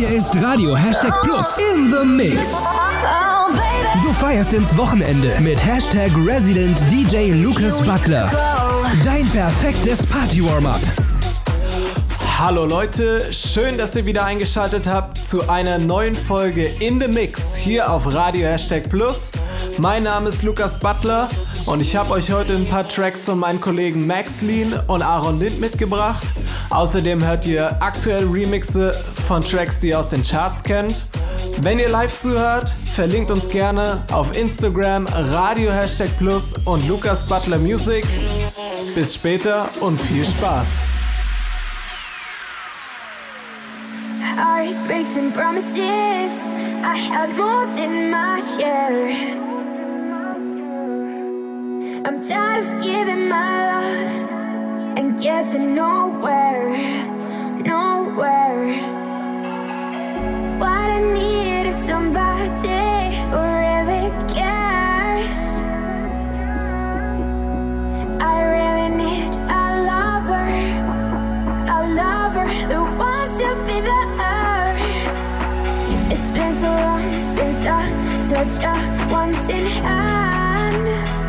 Hier ist Radio #Plus in the Mix. Du feierst ins Wochenende mit #Resident DJ Lucas Butler. Dein perfektes Party-Warm-Up. Hallo Leute, schön, dass ihr wieder eingeschaltet habt zu einer neuen Folge In The Mix hier auf Radio #Plus. Mein Name ist Lucas Butler und ich habe euch heute ein paar Tracks von meinen Kollegen Max Lean und Aaron Lind mitgebracht. Außerdem hört ihr aktuell Remixe von Tracks, die ihr aus den Charts kennt. Wenn ihr live zuhört, verlinkt uns gerne auf Instagram Radio #Plus und Lucas Butler Music. Bis später und viel Spaß. Heartbreaks and promises, I had more than my share. I'm tired of giving my love and getting nowhere, nowhere. What I need is somebody who really cares. I really need a lover who wants to be there. It's been so long since I touched a wanting hand.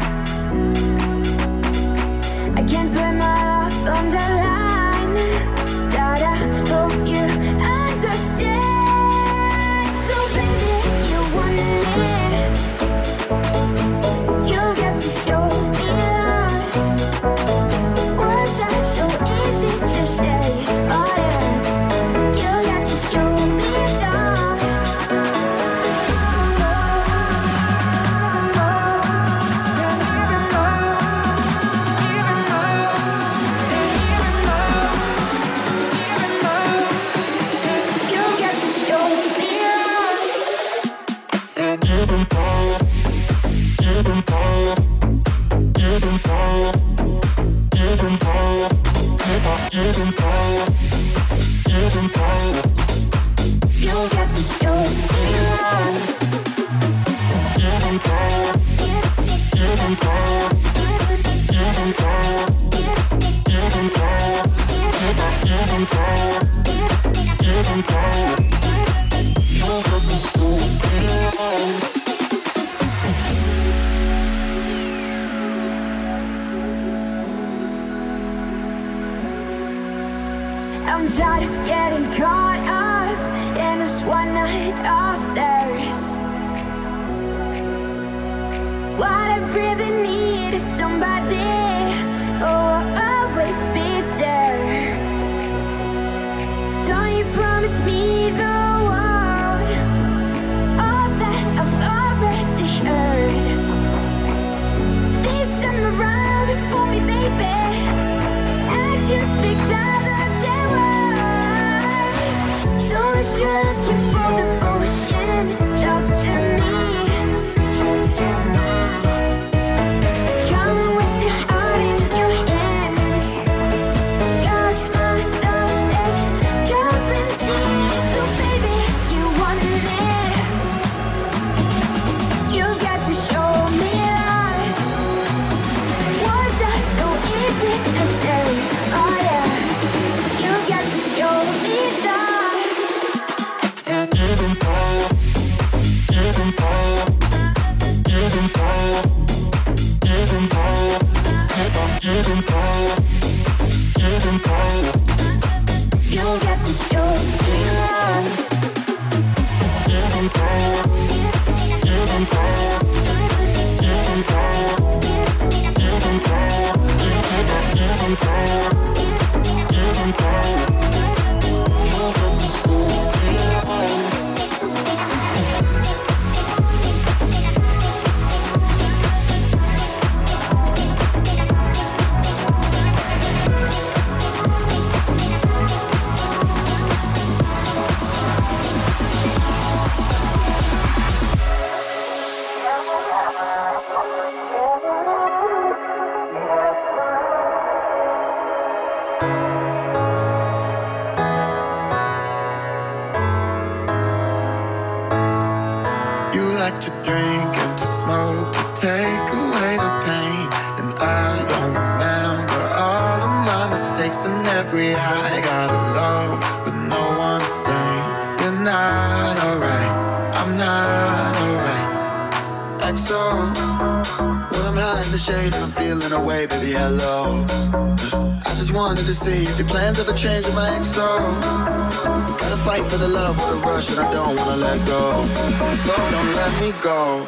I can't put my love on the line. God, I hope you understand. So baby, if you want me, you get to show me love. Was that so easy to say? Oh yeah, you got to show me love. You got to show me love. You got to show me love. I'm tired of getting caught up in this one night affairs. What I really need is somebody who will always be there. Don't you promise me the world, all that I've already heard. This time around for me, baby. Actions speak louder than words. So if you're looking for the motion, talk to me. Come with your heart in your hands. 'Cause my love is guaranteed. So baby, if you want me, you got to show me love. Was that so easy to say? Oh yeah, you got to show me love. You got to show me love. like to drink and to smoke to take away the pain. And I don't remember all of my mistakes and every high. Got a love with no one thing. You're not alright. I'm not alright. XO, when I'm high in the shade and I'm feeling away, baby, hello. I just wanted to see if your plans ever change with my XO. Gotta fight for the love with a rush and I don't wanna let go. So don't let me go.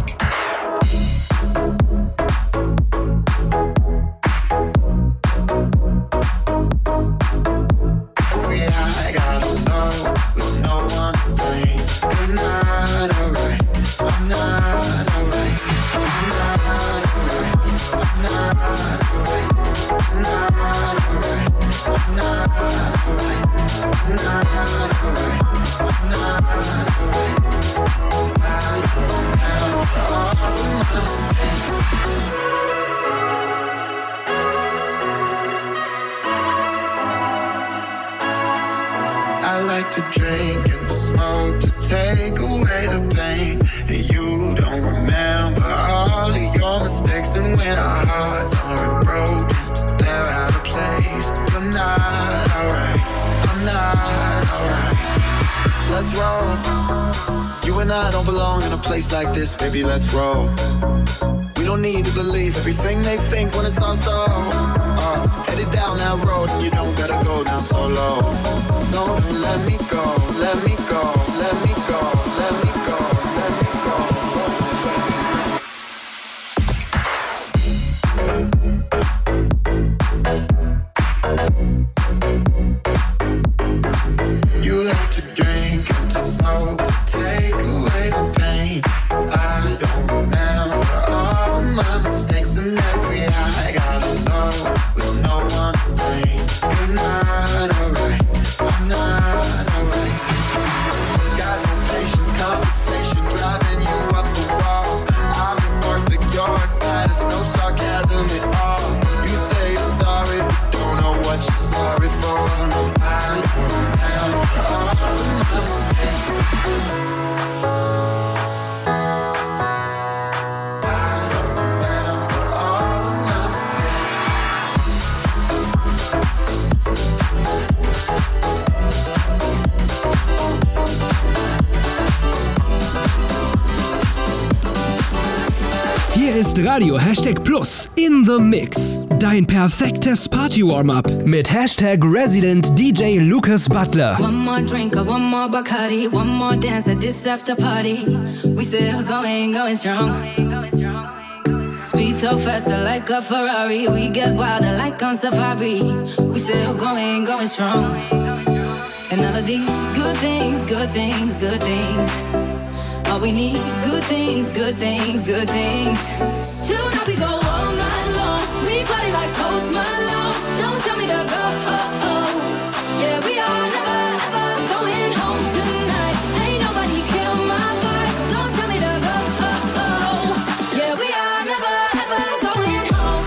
I like to drink and to smoke to take away the pain. And you don't remember all of your mistakes. And when our hearts aren't broken, they're out of place. You're not alright, I'm not alright. Let's roll. You and I don't belong in a place like this, baby, let's roll. We don't need to believe everything they think when it's not so. Headed down that road and you don't gotta go down so low. No, don't let me go, let me go, let me go, let me go, let me go. You like to drink and to smoke to take away the pain. I don't remember all of my mistakes and every high I got alone with no one to blame. You're not alright, I'm not alright. Got no patience, conversation driving you up the wall. I'm imperfect, you're bad, there's no sarcasm at all. You say you're sorry, but don't know what you're sorry for. No, I don't remember all of my mistakes. Hier ist Radio #Plus in the Mix. Dein perfektes Party-Warm-Up mit #Resident DJ Lucas Butler. One more drink or one more Bacardi, one more dance at this after party. We still going strong. Speed so faster like a Ferrari. We get wilder like on safari. We still going strong. And all of these good things, good things, good things. All we need, good things, good things, good things. Tonight we go all night long. We party like Post Malone. Don't tell me to go. Yeah, we are never ever going home tonight. Ain't nobody kill my vibe. Don't tell me to go. Yeah, we are never ever going home.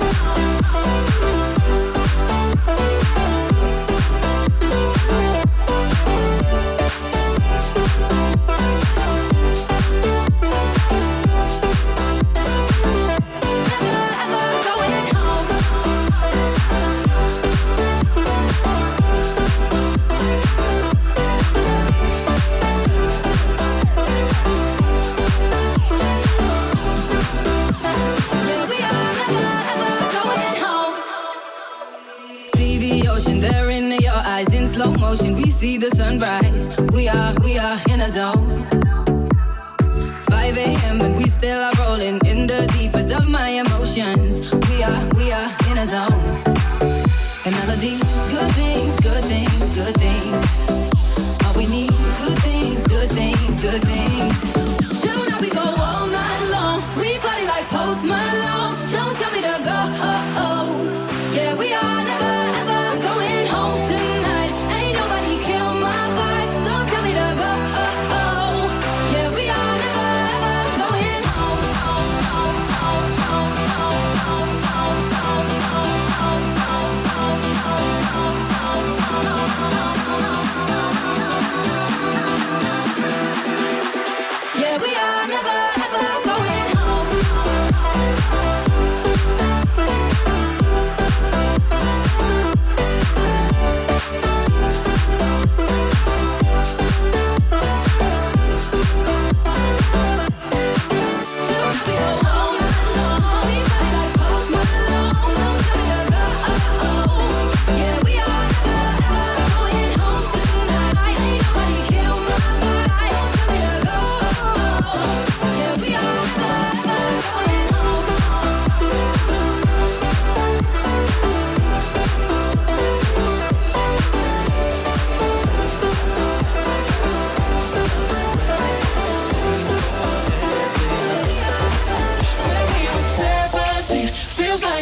In slow motion, we see the sunrise. We are in a zone. 5 a.m. and we still are rolling in the deepest of my emotions. We are in a zone. And all of these good things, good things, good things. All we need, good things, good things, good things. Tonight we go all night long. We party like Post Malone. Don't tell me to go. Yeah, we are never ever going home tonight. Ain't nobody kill my vibe. Don't tell me to go. Yeah, we are never ever going home.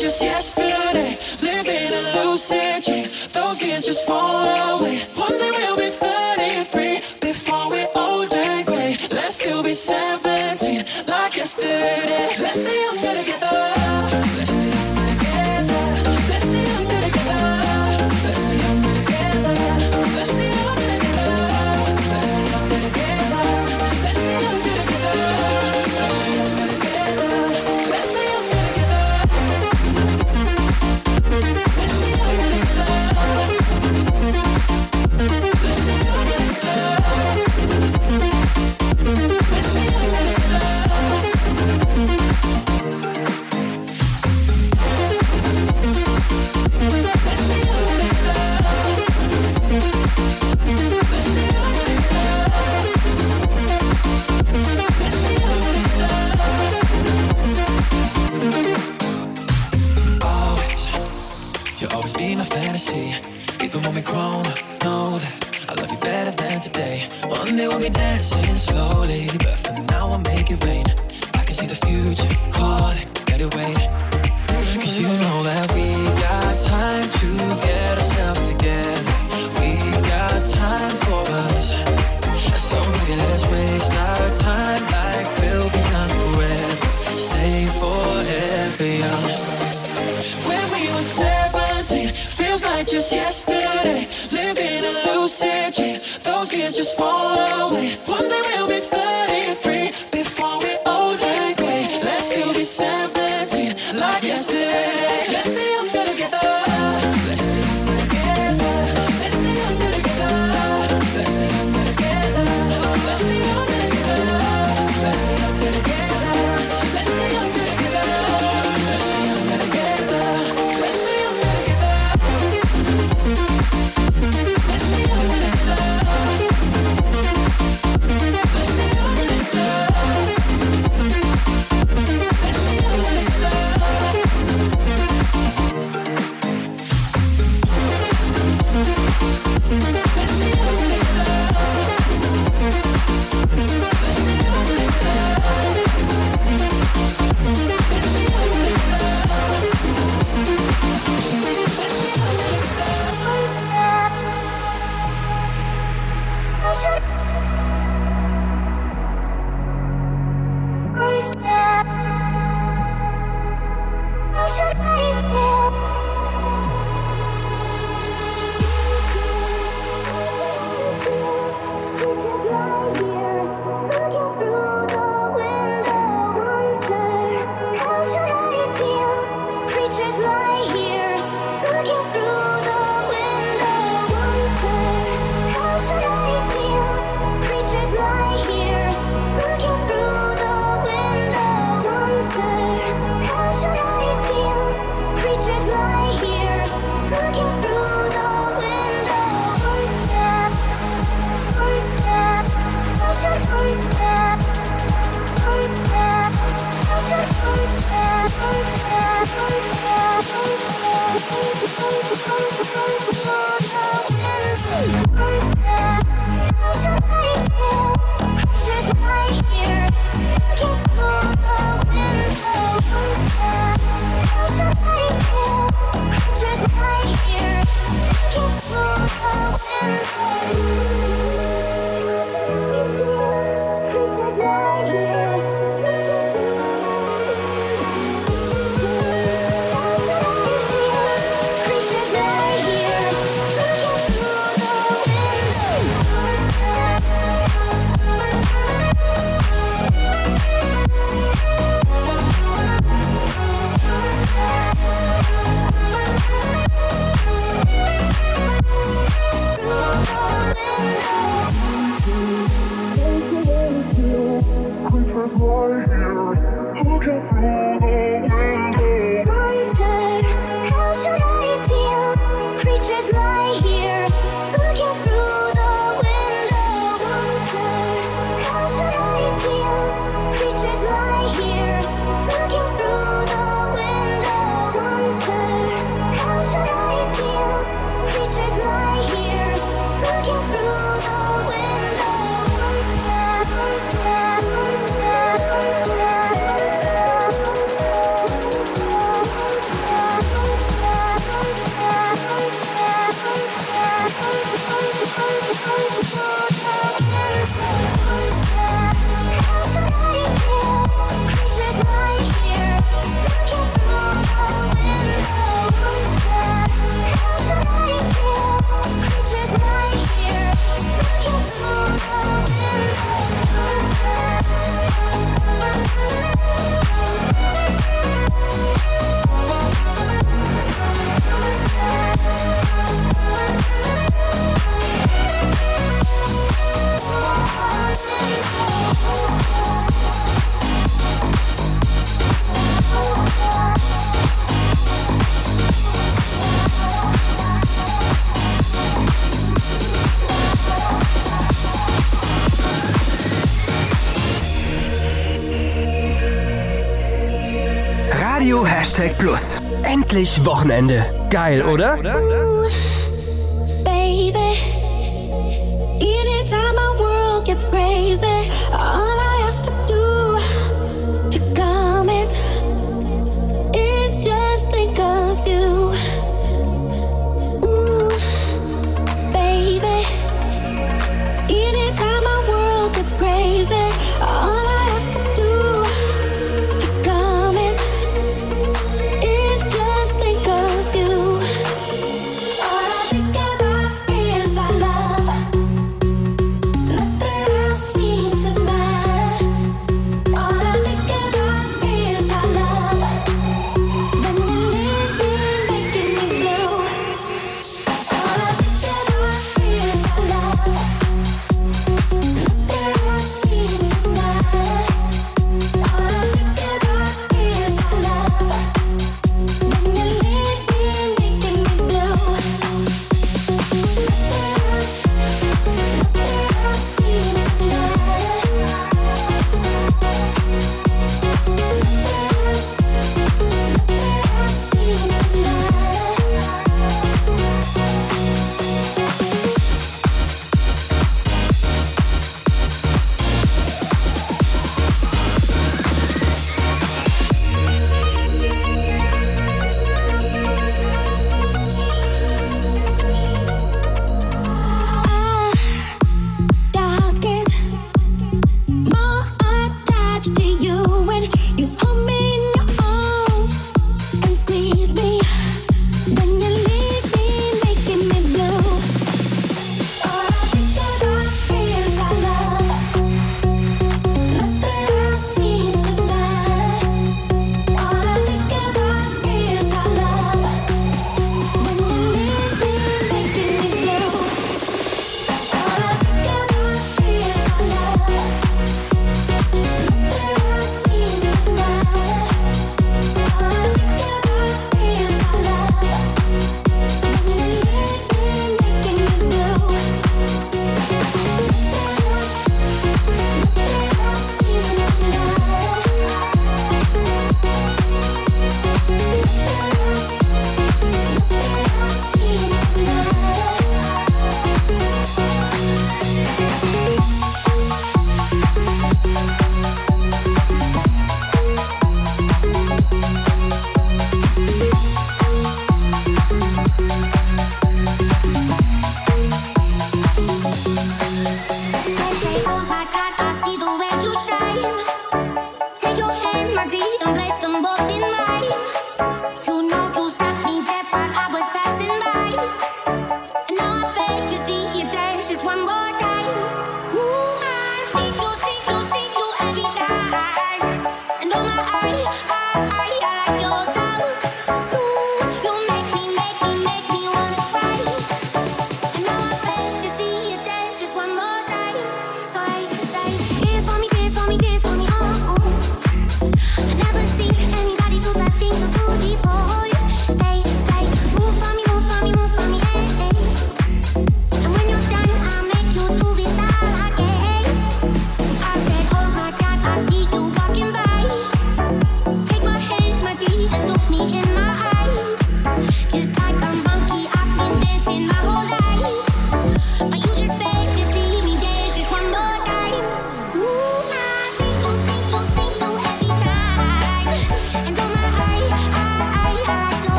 just yesterday. Living a lucid dream. Those years just fall away. One day we'll be 33 before we're old and gray. Let's still be 17 like yesterday. Let's stay younger together. Let's stay younger together. Let's stay younger together. Let's stay younger together. Let's stay younger together. Let's stay younger together. Let's stay younger together. Let's stay younger together. Let's stay younger together. Let's stay younger together. Let's stay younger together. Let's stay younger You'll always be my fantasy. Even when we're grown up, know that I love you better than today. One day we'll be dancing slowly, but for now I'll make it rain. I can see the future calling, better wait. Cause you know that we got time to get ourselves together. We got time for us. So maybe let's waste our time like we'll be young forever. Stay forever young. When we were 17, feels like just yesterday. Living a lucid dream. Those years just fall away. One day we'll be 33 before we're old and gray. Let's still be 17 like yesterday. Let's stay younger together. Let's stay younger together. Let's stay younger together. Let's stay younger together. Let's stay younger together. Let's stay younger together. Let's stay younger together. Let's stay younger together. Let's stay younger together. Let's stay younger together. Let's stay younger Radio #Plus. Endlich Wochenende. Geil, oder? Baby, anytime my world gets crazy, all I have to do to calm it is just think of you. Ooh, baby, anytime my world gets crazy, all I have to do to calm it is just think of you. All I think about is our love. Nothing else seems to matter.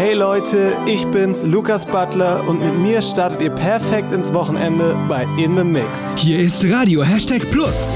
Hey Leute, ich bin's, Lukas Butler, und mit mir startet ihr perfekt ins Wochenende bei In The Mix. Hier ist Radio #Plus.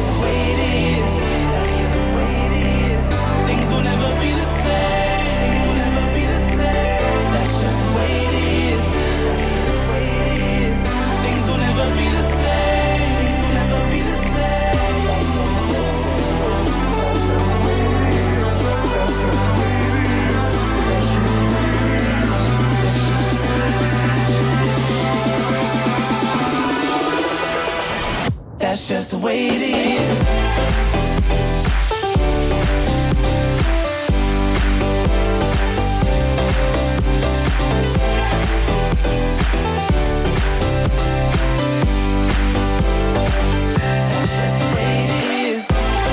That's just the way it is. That's just the way it is.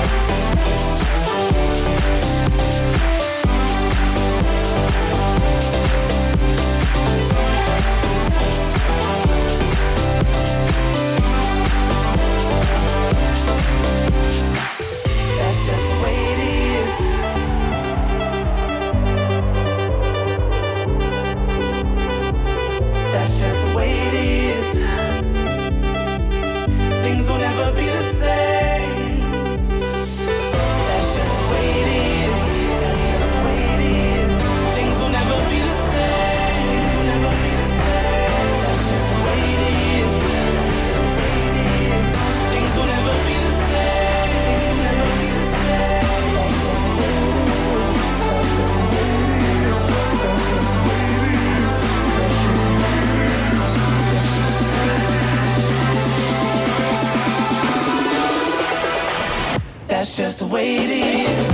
That's just the way it is.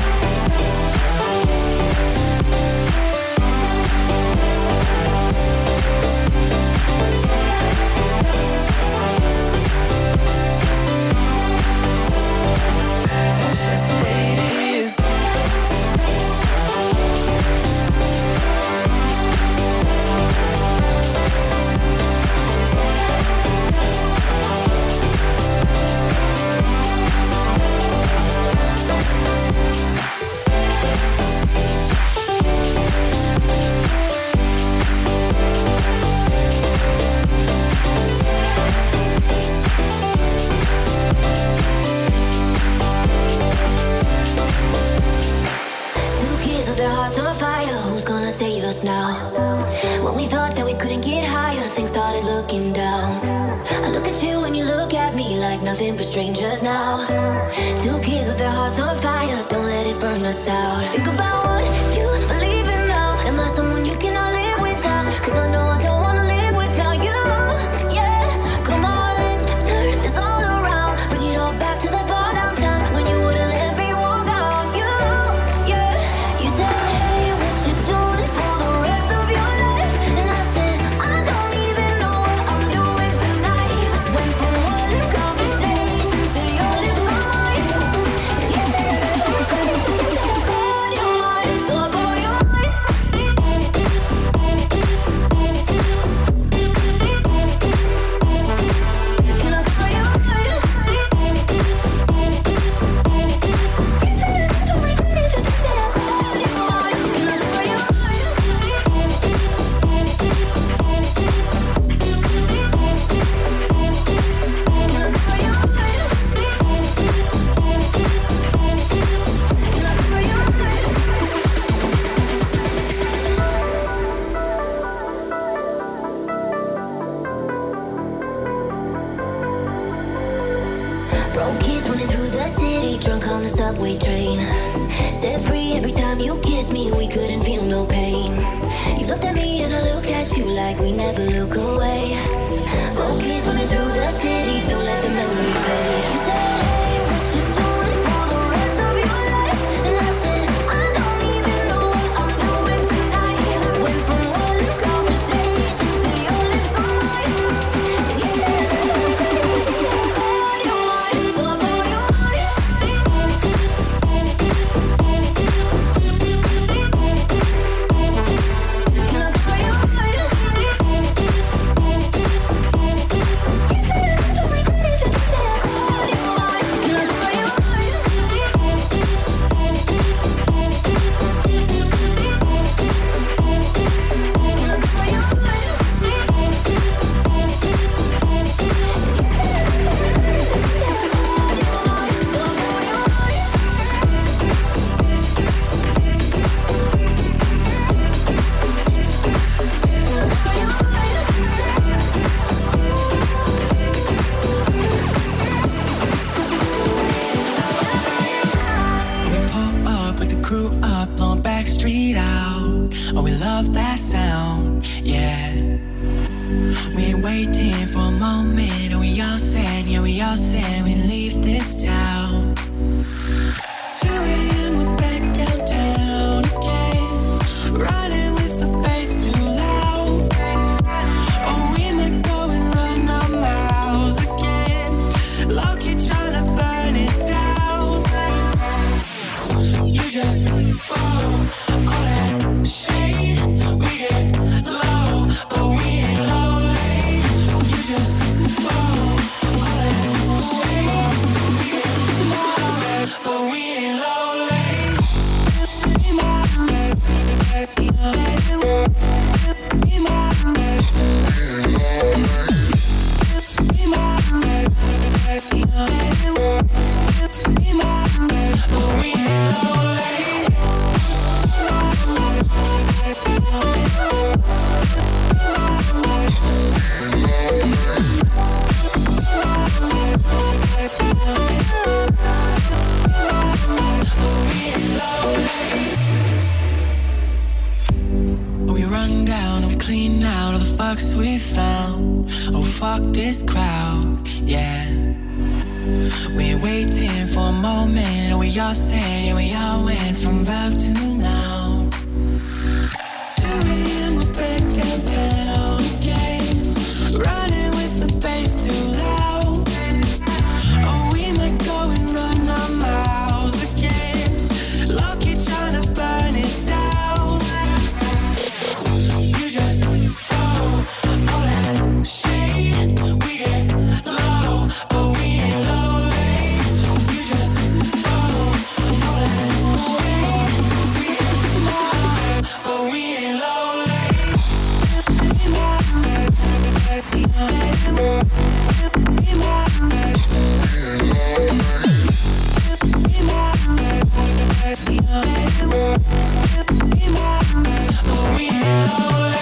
That's just the way it is. Save us now. When we thought that we couldn't get higher, things started looking down. I look at you and you look at me like nothing but strangers now. Two kids with their hearts on fire, don't let it burn us out. Think about what you believe in now. Am I someone you cannot live without? 'Cause I know I don't wanna live without you. Yeah, come on, let's turn this all around. Bring it all back to the bar downtown when you wouldn't let me walk out. You, yeah, you said, hey, what you doing for the rest of your life? And I said, I don't even know what I'm doing tonight. Went from one conversation to your lips on mine. And you said I called you mine, so I call you mine. Can I call you mine? You said I never regret it, but then I called you mine. Can I call you mine? Broke kids running through the city, drunk on the subway train. Set free every time you kissed me, we couldn't feel no pain. You looked at me and I looked at you like we never look away. Broke kids running through the city, don't let the memory fade. You said, hey, what you doing for the rest of your life? And I said, I don't even know what I'm doing tonight. Went from one conversation to your lips on mine. And you said I never regret it, but then I called you mine, so I call you mine. Can I call you mine? You said I never regret it, but then I backstreet out. Oh, we love that sound, yeah. We ain't waiting for a moment, and we all said, yeah, we all said we'd leave this town. 2 a.m. we're back downtown again, riding with the bass too loud. Oh, we might go and run our miles again, low-key tryna burn it down. You just follow all that shade. We get low, but we ain't lonely. You just follow all that shade. We get low, but we ain't lonely. Be my baby, be my baby. Be my baby, but we ain't lonely. We run down and we clean out all the fucks we found. Oh, fuck this crowd, yeah. We ain't waiting for a moment, and we all said, yeah, we all went from vibe to now. 2 a.m. we're back downtown again, riding with the bass too loud. Oh, we might go and run our miles again, lucky tryna burn it down. You just follow all that shade. We get low, but we ain't lonely. You just follow all that shade. We get low, but we ain't lonely. Be my baby, be my baby. Be my baby, be my baby. Be my baby, but we ain't lonely.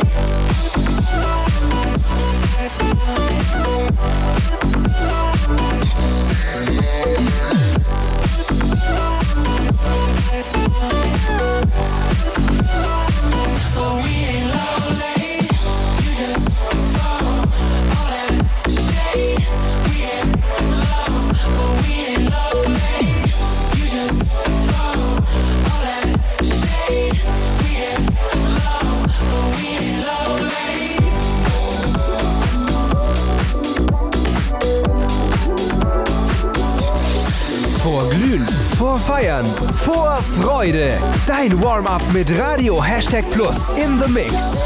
But we ain't lonely. You just follow all that shade. We get low, but we ain't lonely. You just follow all that shade. We get low, but we ain't lonely. Vor Glühen, vor Feiern, vor Freude. Dein Warm-up mit Radio #Plus in the Mix.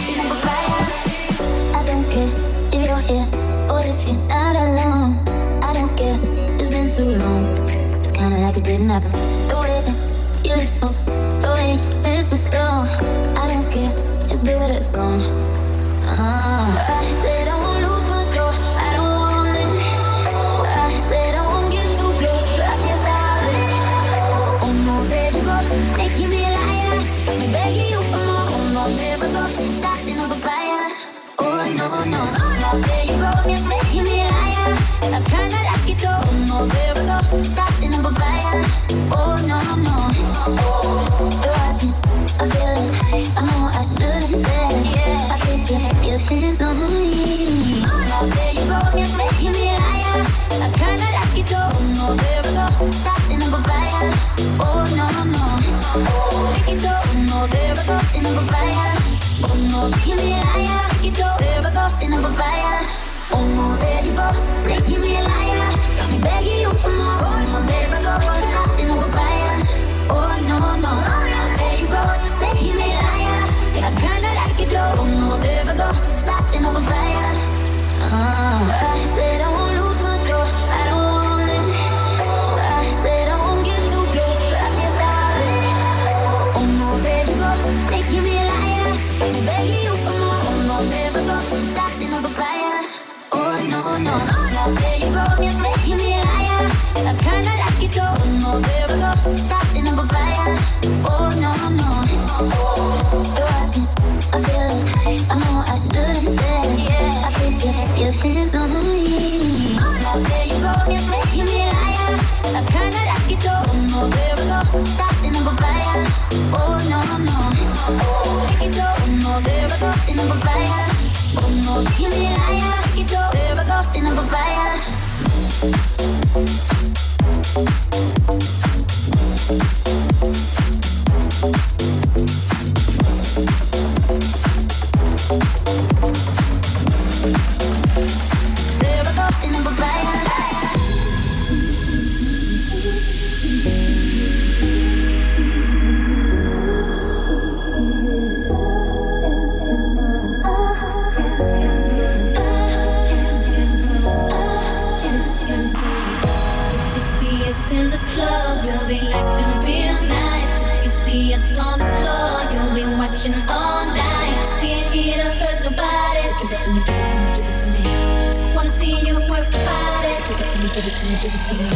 I don't care if you're here or if you're not alone. I don't care, it's been too long. It's kinda like it didn't happen. The way that your lips move, the way you whisper slow. I don't care, it's good, it's gone. I said I won't lose control, I don't want it. I said I won't get too close, but I can't stop it. Oh no, baby, go, making me a liar. Got me begging you for more. Oh no, baby, go, starting up a fire. Oh no, no, no, there you go, you're making me a liar. I kinda like it though. Oh no, baby, go, starting up a fire. Oh no, no, you're watching, I feel it. I know I should've stayed. I picture your hands on me. Oh no, there you go, you're making me a liar. I kinda like it though. Oh no, baby, go, starting up a fire. Oh no, no, make it go. Oh no, baby, go, starting up a fire. Oh no, making me a liar. Make it go, baby, go, starting up a fire. Oh no, there you go, making me a liar. Got me begging you for more. Oh no, baby, go, starting up a fire. Oh no, no, there you go, making me a liar. I kinda like it though. Oh no, baby, go, starting up a fire. I said I won't lose control, I don't want it. I said I won't get too close, but I can't stop it. Oh no, baby, go, making me a liar. Got me begging you for more. Oh no, baby, go, starting up a fire. Oh no, no, there you go, you're making me a liar. I kinda like it though. Oh no, baby, go, starting up a fire. Oh no, no, you're watching, I feel it. I know I should've stayed. I picture your hands on me. Oh no, there you go, you're making me a liar. I kinda like it though. Oh no, baby, go, starting up a fire. Oh no, no. Make it go, no, there I go, tin up a fire. Oh no, you be a liar. Make it go, there I go, tin up a fire. There I go, tin up a fire. In the club, we'll be acting real nice. You see us on the floor, you'll be watching all night. We ain't here to hurt nobody. So give it to me, give it to me, give it to me. Wanna see you work your body. So give it to me, give it to me, give it to me.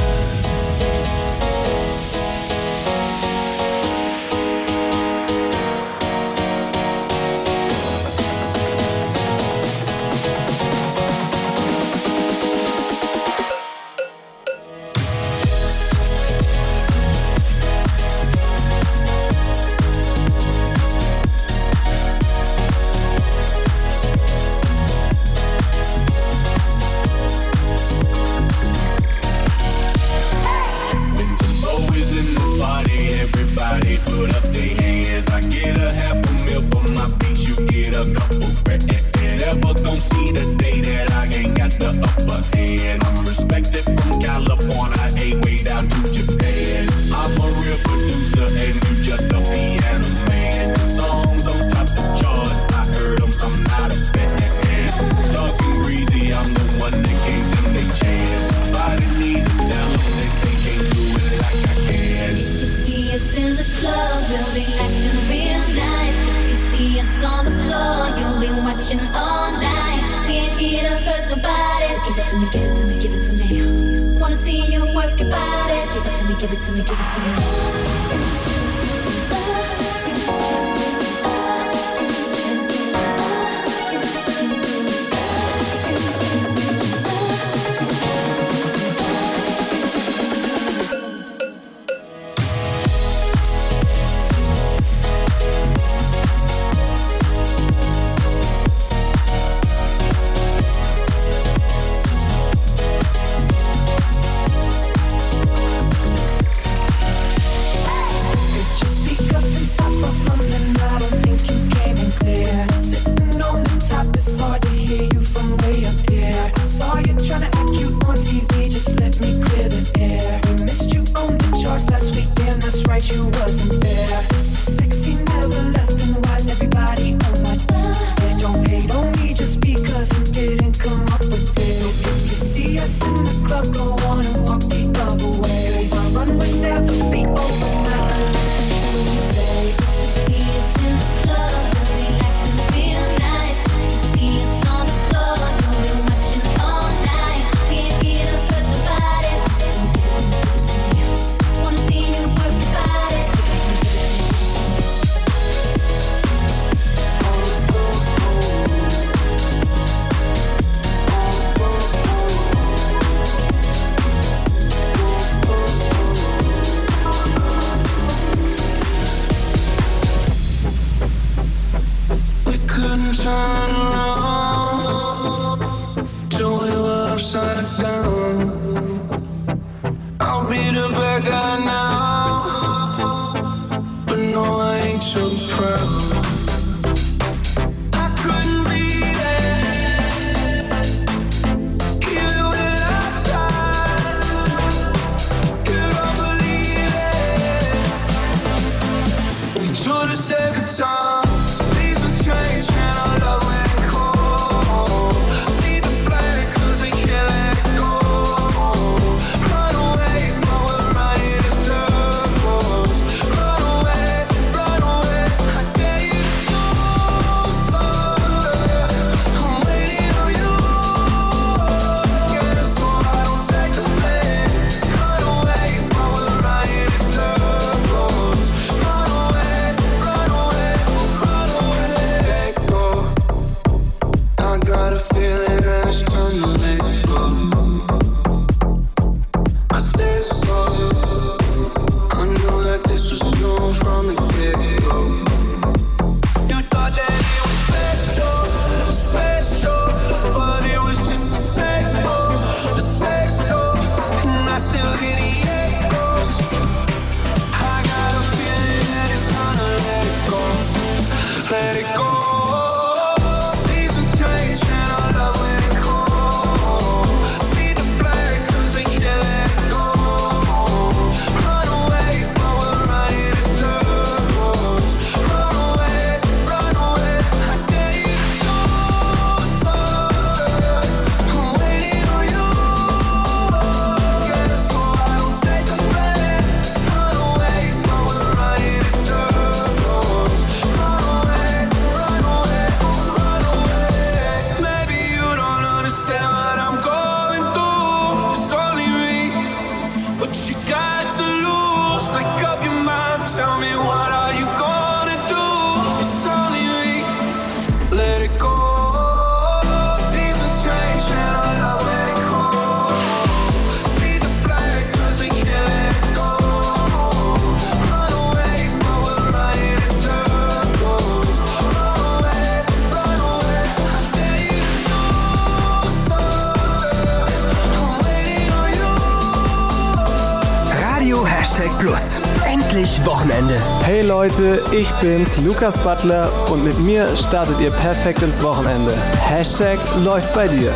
Plus. Endlich Wochenende. Hey Leute, ich bin's, Lukas Butler, und mit mir startet ihr perfekt ins Wochenende. Hashtag läuft bei dir.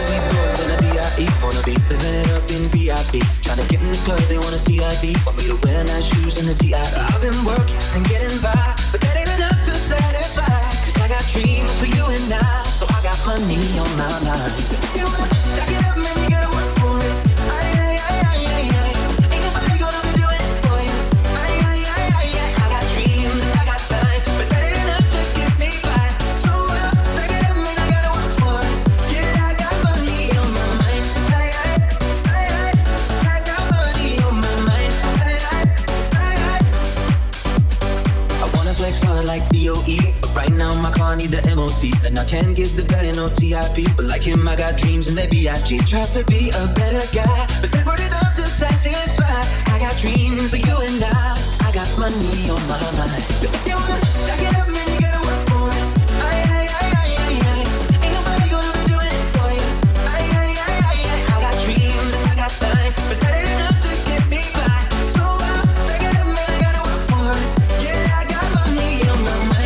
Right now my car need the MOT, and I can't get the better no TIP. But like him, I got dreams and they B.I.G. Try to be a better guy, but they put it up to satisfy. I got dreams for you and I got money on my mind. So if you wanna stack it up, man, you gotta work for it. Ain't nobody gonna do it for you. I got dreams and I got time, but that ain't enough to get me by. So stack it up, man, I gotta work for it. Yeah, I got money on my mind.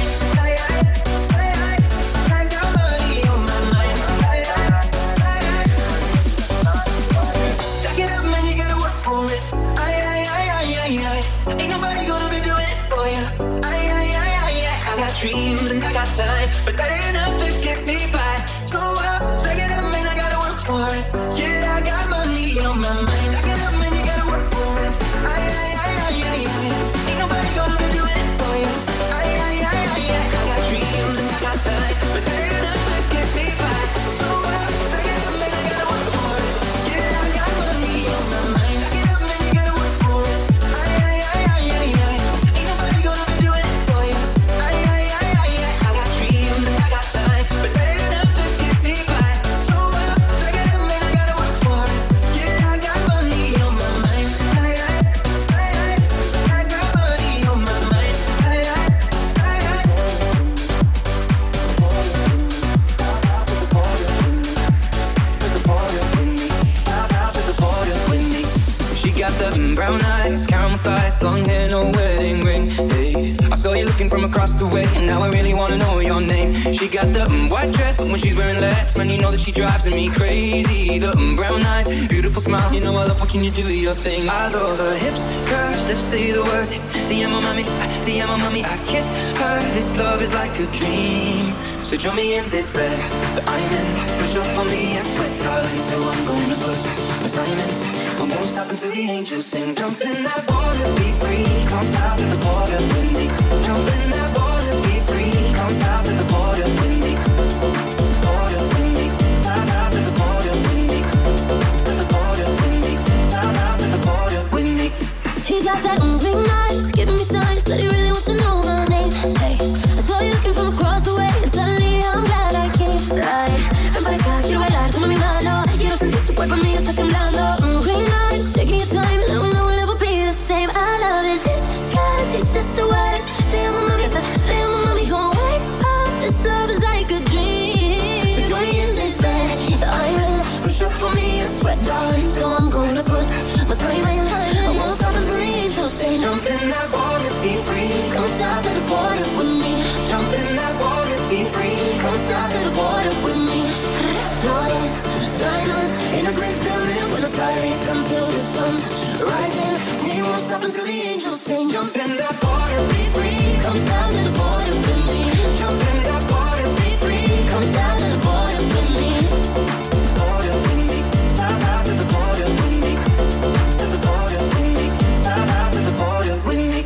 Dreams and I got time, but that ain't enough to get me by. So stack it up, man, I gotta work for it. Yeah, I got money on my mind. Stack it up, man, you gotta work for it. Ain't nobody gonna do it for you. I got dreams and I got time, but that ain't enough to get me by. So stack it up, man, I gotta work for it. Yeah, I got money on my mind. Stack it up, man, you gotta work for it. Ain't nobody gonna do it for you. Brown eyes, caramel thighs, long hair, no wedding ring. Hey, I saw you looking from across the way, and now I really wanna know your name. She got the white dress, but when she's wearing less, man, you know that she drives me crazy. The brown eyes, beautiful smile, you know I love watching you do your thing. I love her hips, curves, lips say the words. See, I'm a mommy, I kiss her. This love is like a dream. So join me in this bed that I'm in. Push up on me and sweat, darling. So I'm gonna put my time in. I won't stop until the angels sing. Jump in that water, be free. Come south to the border with me. Jump in that water, be free. Come south to the border with me. Border with me. Down out to the border with me. To the border with me. Down out to the border with me. He got that green eyes, giving me signs that he really wants to know my name. Hey, I saw you looking from across the way, and suddenly I'm glad I came. Right, ven para acá, quiero bailar, toma mi mano. Quiero sentir tu cuerpo en mí, está temblando. Green eyes, shaking your time, no one will ever be the same. I love his lips, cause he says the words. Damn, mommy, gonna wake up. This love is like a dream. So join me in this bed that I'm in. Push up on me and sweat, darling. So I'm gonna put my time in. I won't stop until the angels say, jump in that water, be free. Come south to the border with me. Jump in that water, be free. Come south to the border with me. Flawless diamonds in a great building with a silence until the sun's rising. We won't stop until the angels sing. Jump in that water, be free. Come south to the border with me. Jump in that water, be free. Come south to the border with me. Border with me. Down out to the border with me. To the border with me. Down out to the border with me.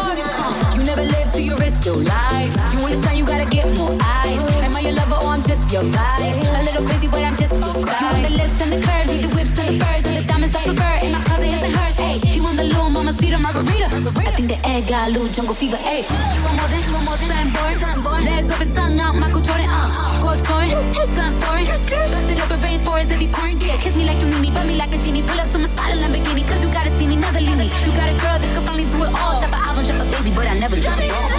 You never live till you risk your life. You wanna shine, you gotta get more eyes. Am I your lover or I'm just your vibe? A little crazy, but I'm just so tired. You want the lips and the curves, need the whips and the furs and the diamonds up a bird. In my closet, his and hers. Hey, you want the little mama sweeter margarita? I think the egg got a little jungle fever. Hey, you want more than sunborn. Legs open, tongue out, Michael Jordan. Go exploring, sun pouring. Bust it open, rainforest, every pouring. Yeah, kiss me like you need me, rub me like a genie. Pull up to my spot in Lamborghini, cause you gotta see me, never leave me. You got a girl that could finally do it all. Drop an album, drop a baby, but I never drop it all.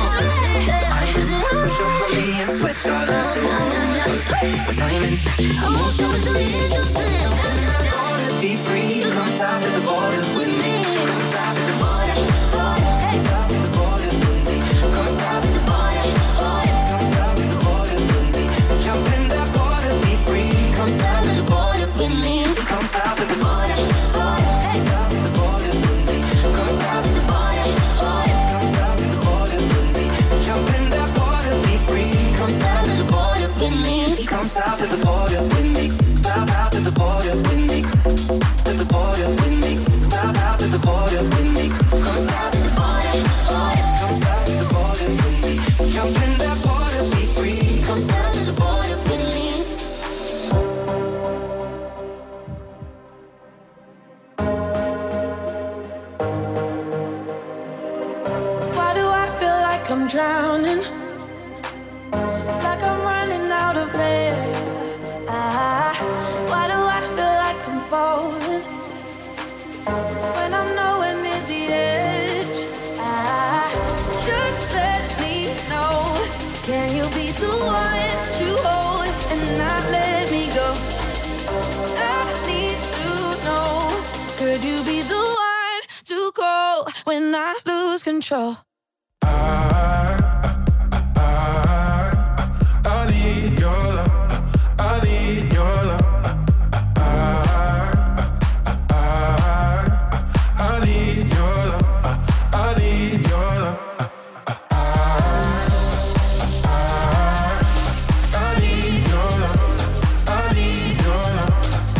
Push up on me and sweat, darling. So my time in. I won't stop until the angels sing. Be free, come south to the border with me. Come south to the border. Come south to the border with me. South to the border with me. To the border with me. South to the border with me. Come south to the border, border. Come south to the border with me. Jump in that border, be free. Come south to the border with me. Why do I feel like I'm drowning? Like I'm running out of air. Why do I feel like I'm falling when I'm nowhere near the edge? Just let me know. Can you be the one to hold and not let me go? I need to know. Could you be the one to call when I lose control? I need your love. I need your love. I need your love. I need your love. I need your love. I need your love.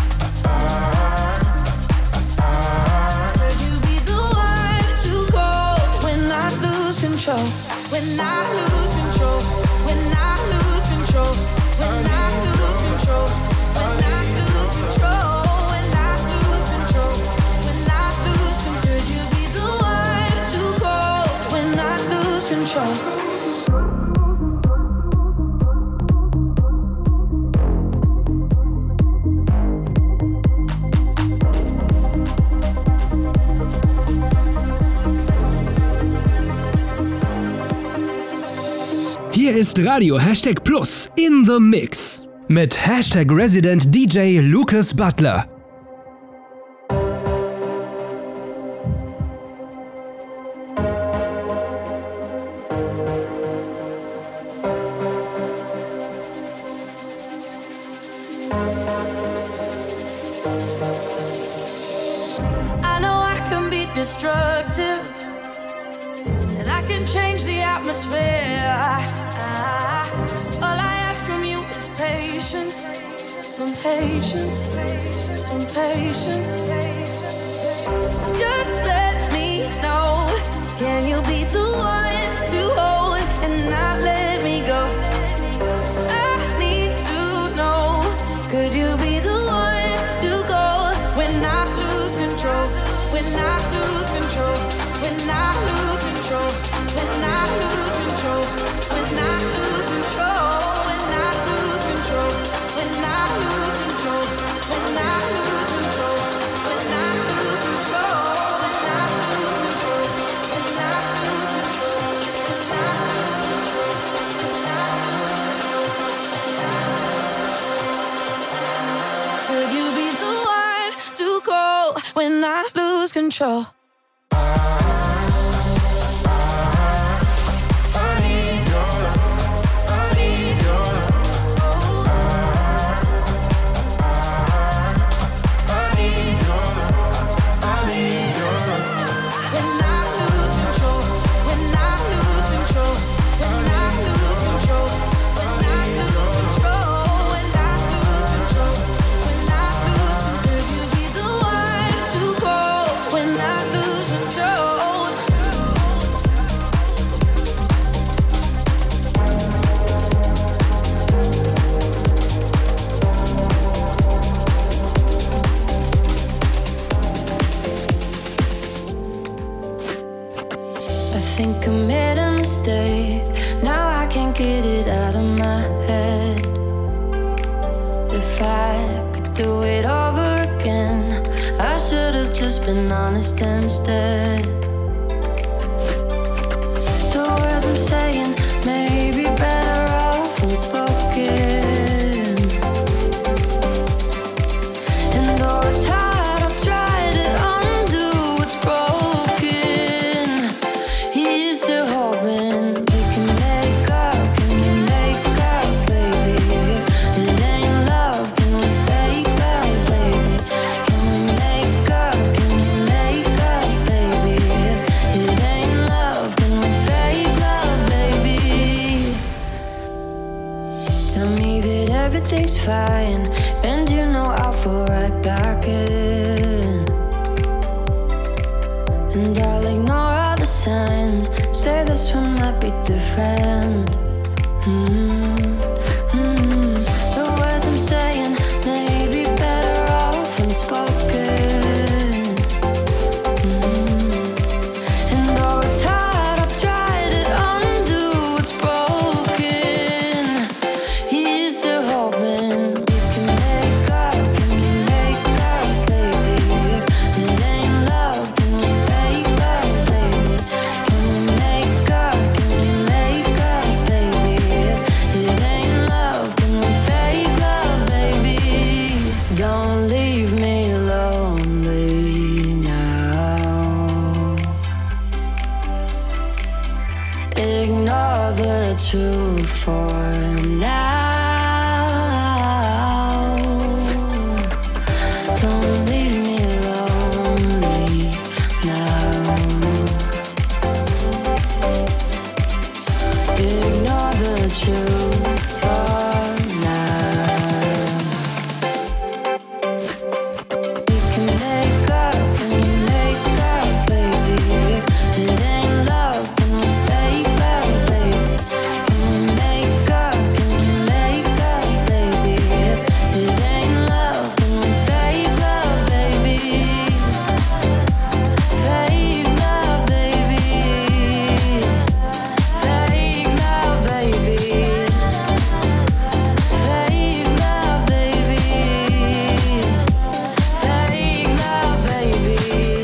Could you be the one to call when I lose control? When I lose control. When I lose control. When I lose control. When I lose control. When I lose control. When I lose control. Could you be the one to call when I lose control? Hier ist Radio Hashtag Plus in the Mix mit Hashtag Resident DJ Lucas Butler. I know I can be destructive, and I can change the atmosphere. All I ask from you is patience, some patience, some patience. Just let me know. Can you be the one to hold and not let me go? I need to know. Could you be the one to go when I lose control? When I lose control. When I lose control. When I lose control. When I lose control. When I lose control. When I lose control. When I lose control. When I lose control. When I lose control. When I lose control. When I lose control. Could you be the one to call when I lose control? think I made a mistake. Now I can't get it out of my head. If I could do it over again, I should have just been honest instead. The words I'm saying may be better off unspoken. And though it's hard, I'll try to undo what's broken. Here's to hoping we can make up. Can you make up, baby? If it ain't love, can we fake love, baby? Can we make up? Can you make up, baby? If it ain't love, can we fake love, baby? it, everything's fine. And you know I'll fall right back in. And I'll ignore all the signs. Say this one might be different. The words I'm saying may be better off unspoken. And though it's hard, I'll try to undo what's broken. Here's to hoping we can make up. Can we make up, baby? If it ain't love, can we fake love, baby? Can we make up? Can we make up, baby? If it ain't love, can we fake love, baby? Don't leave me lonely now. Ignore the truth for now. Don't leave me lonely now. Ignore the truth for now. We can make up, can we make up, baby? If it ain't love, can we fake love, baby? Can we make up, can we make up, baby? If it ain't love, can we fake love, baby? Fake love, baby. Fake love, baby. Fake love, baby. Fake love, baby.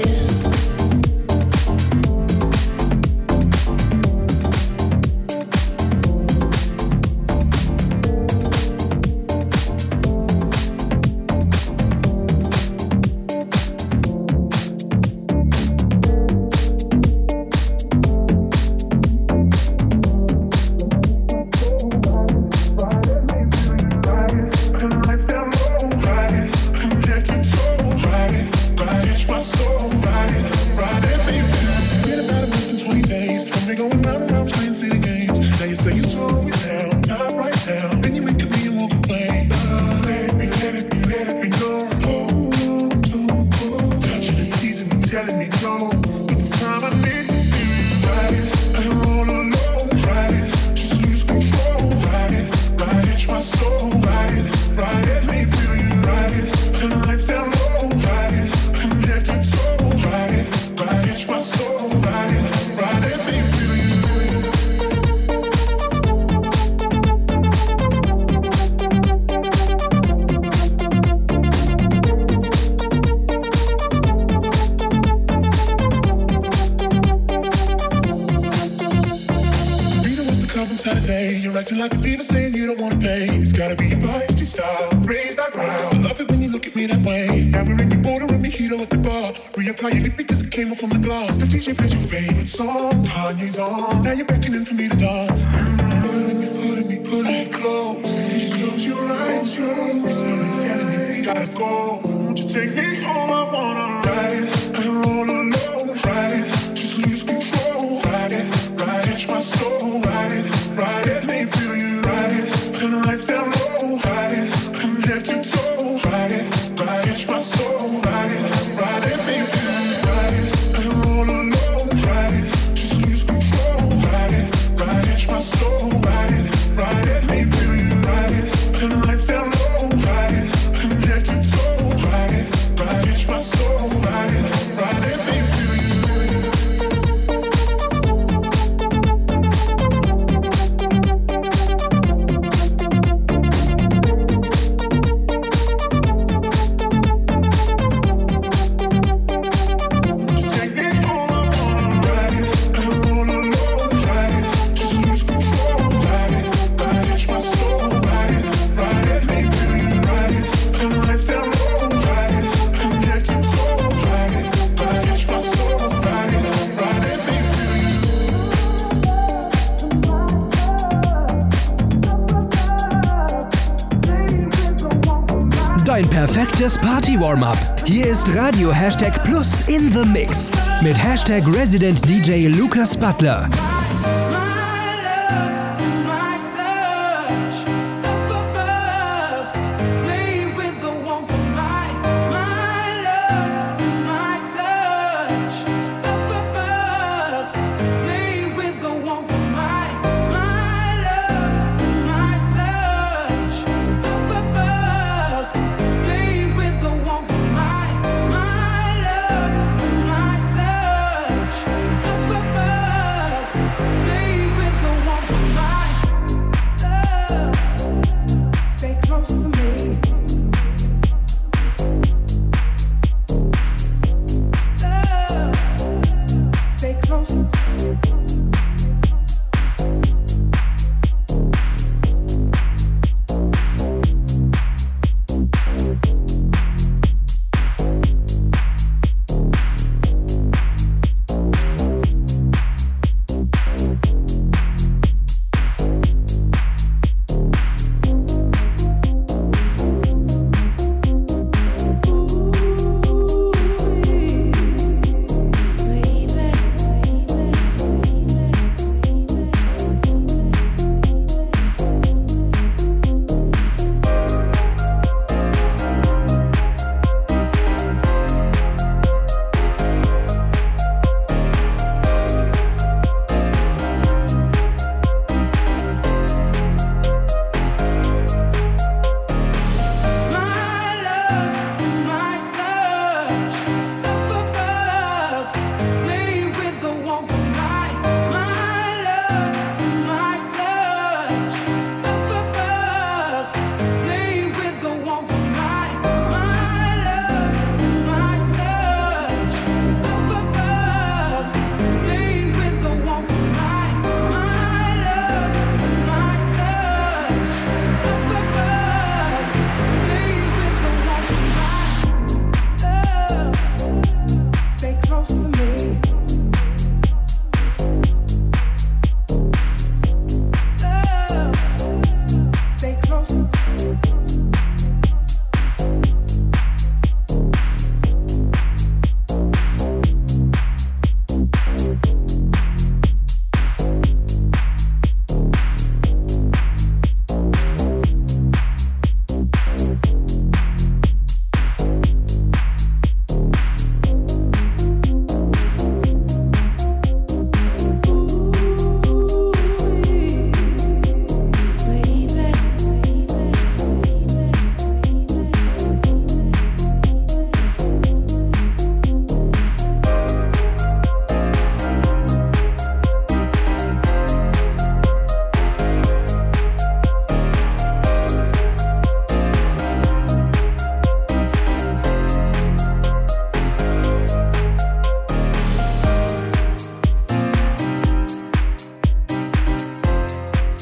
You're acting like a diva saying you don't wanna pay. It's gotta be your feisty style. Raise that ground. I love it when you look at me that way. Now we're in your border and mojito at the bar. Reapply your lip because it came off from the glass. The DJ plays your favorite song. Kanye's on. Now you're beckoning for me to dance. Pulling me close. Close your eyes, Someone's telling me we gotta go. Won't you take me home? I wanna ride it. I don't roll alone. Ride it. Just lose control. Ride it. Catch my soul. Ride it. Let me feel you. Ride it. Turn the lights down low. Ride it. From head to toe. Ride it. Catch my soul. Ride it. Let me feel you. Ride it. I don't roll alone. Ride it. Just lose control. Ride it. Catch my soul. Ride it. Let me feel you. Ride it. Turn the lights down low. Ride it. From head to toe. Ride it. Catch my soul. Ride it. Let me feel you. Dein perfektes Party-Warm-Up. Hier ist Radio #Plus in the Mix mit #Resident DJ Lucas Butler. My love, my touch,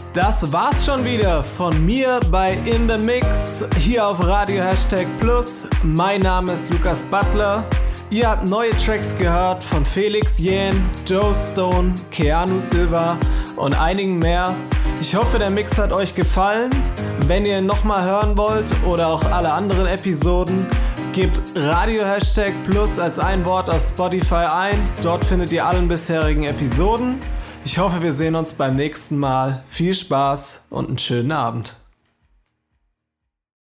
Das war's schon wieder von mir bei In The Mix hier auf Radio #Plus. Mein Name ist Lukas Butler. Ihr habt neue Tracks gehört von Felix Jähn, Joe Stone, Keanu Silva und einigen mehr. Ich hoffe, der Mix hat euch gefallen. Wenn ihr ihn nochmal hören wollt oder auch alle anderen Episoden, gebt Radio #Plus als ein Wort auf Spotify ein. Dort findet ihr alle bisherigen Episoden. Ich hoffe, wir sehen uns beim nächsten Mal. Viel Spaß und einen schönen Abend.